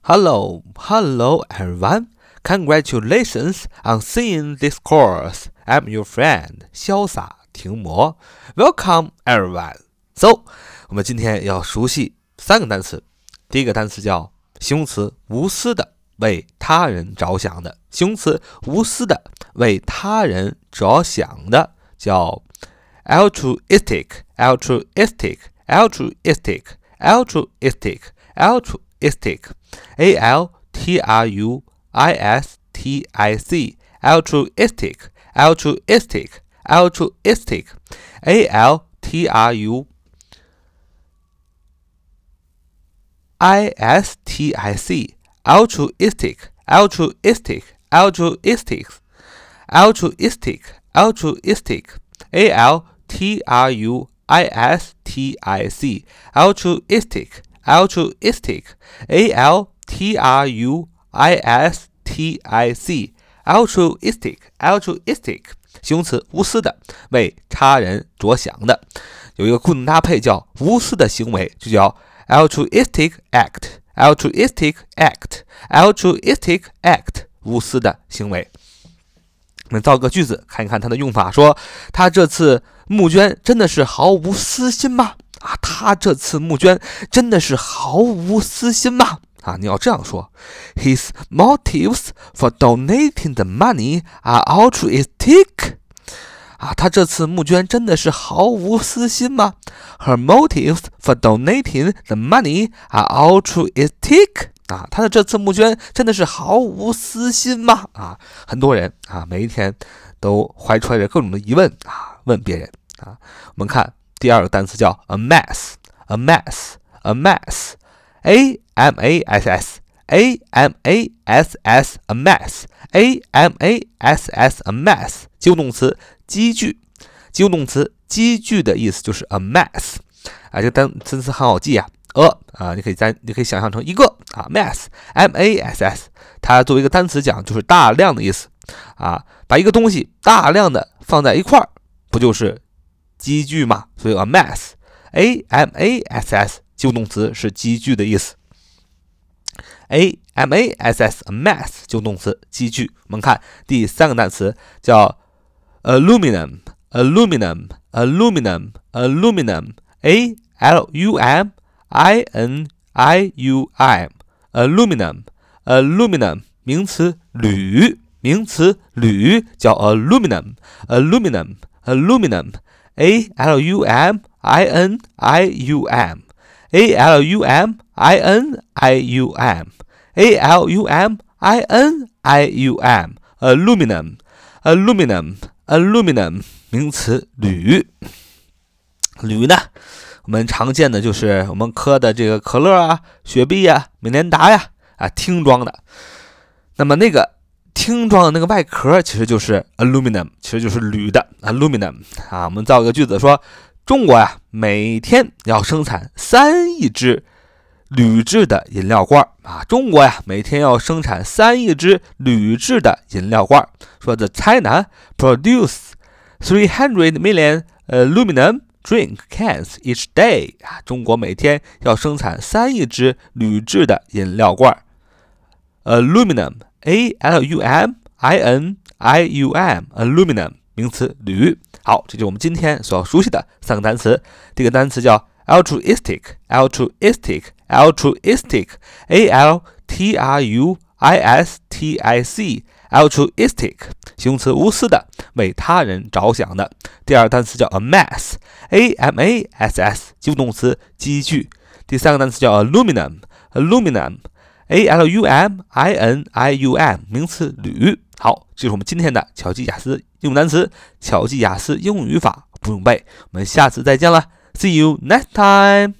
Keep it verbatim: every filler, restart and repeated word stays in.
Hello, hello everyone. Congratulations on seeing this course. I'm your friend 潇洒停魔 Welcome everyone. So, 我们今天要熟悉三个单词。第一个单词叫形容词无私的，为他人着想的。形容词无私的，为他人着想的叫 altruistic, altruistic, altruistic, altruistic, altruistic, A L T R U I S T I C, altruistic, altruistic, altruistic, A L T R U I S T I C, altruistic, altruistic, altruistic, altruistic, altruistic, A L T R U I S T I C, altruistic, altruistic, A L T R U I S T I C, altruistic, altruistic, 形容词无私的，为他人着想的。有一个固定搭配叫无私的行为，就叫 altruistic act, altruistic act, altruistic act, 无私的行为。我们造个句子看一看它的用法，说他这次募捐真的是毫无私心吗？啊，他这次募捐真的是毫无私心吗？啊，你要这样说 His motives for donating the money are altruistic. 啊，他这次募捐真的是毫无私心吗？ Her motives for donating the money are altruistic. 啊，他的这次募捐真的是毫无私心吗？啊，很多人啊，每一天都怀揣着各种的疑问啊，问别人啊。我们看第二个单词叫 amass, amass, amass, A M A S S, A M A S S, amass, A M A S S, amass, 及物动词积聚，及物动词积聚的意思就是 amass。啊，这个单词很好记啊。a 啊，你可以在你可以想象成一个啊 mass, M A S S， 它作为一个单词讲就是大量的意思啊，把一个东西大量的放在一块儿，不就是积聚吗？所以 a mass, A M A S S， 及物动词是积聚的意思。A M A S S, a mass, 及物动词积聚。我们看第三个单词叫 aluminum, aluminum, aluminum, aluminum, A L U M I N I U M, aluminum, aluminum, 名词铝，名词铝叫 aluminum, aluminum, aluminum, A L U M I N I U M, A L U M I N I U M, A L U M I N I U M, aluminum, aluminum, aluminum, 名词铝。铝呢，我们常见的就是我们喝的这个可乐啊、雪碧啊、美年达呀啊，听装的。那么那个听装的那个外壳其实就是 aluminum， 其实就是铝的 aluminum 啊。我们造一个句子说，中国呀每天要生产三亿只铝制的饮料罐啊。中国呀每天要生产三亿只铝制的饮料罐。说 The China produce three hundred million aluminum drink cans each day 啊，中国每天要生产三亿只铝制的饮料罐。aluminum, A L U M I N I U M, aluminum, 名词铝。好，这就是我们今天所要熟悉的三个单词。第一个单词叫 altruistic, altruistic, altruistic, A L T R U I S T I C, altruistic, 形容词无私的，为他人着想的。第二个单词叫 amass, A M A S S, 及物动词积聚。第三个单词叫 aluminum, aluminum, A L U M I N I U M, 名词铝。好，这是我们今天的巧记雅思英语单词，巧记雅思英语语法不用背。我们下次再见了 ，See you next time.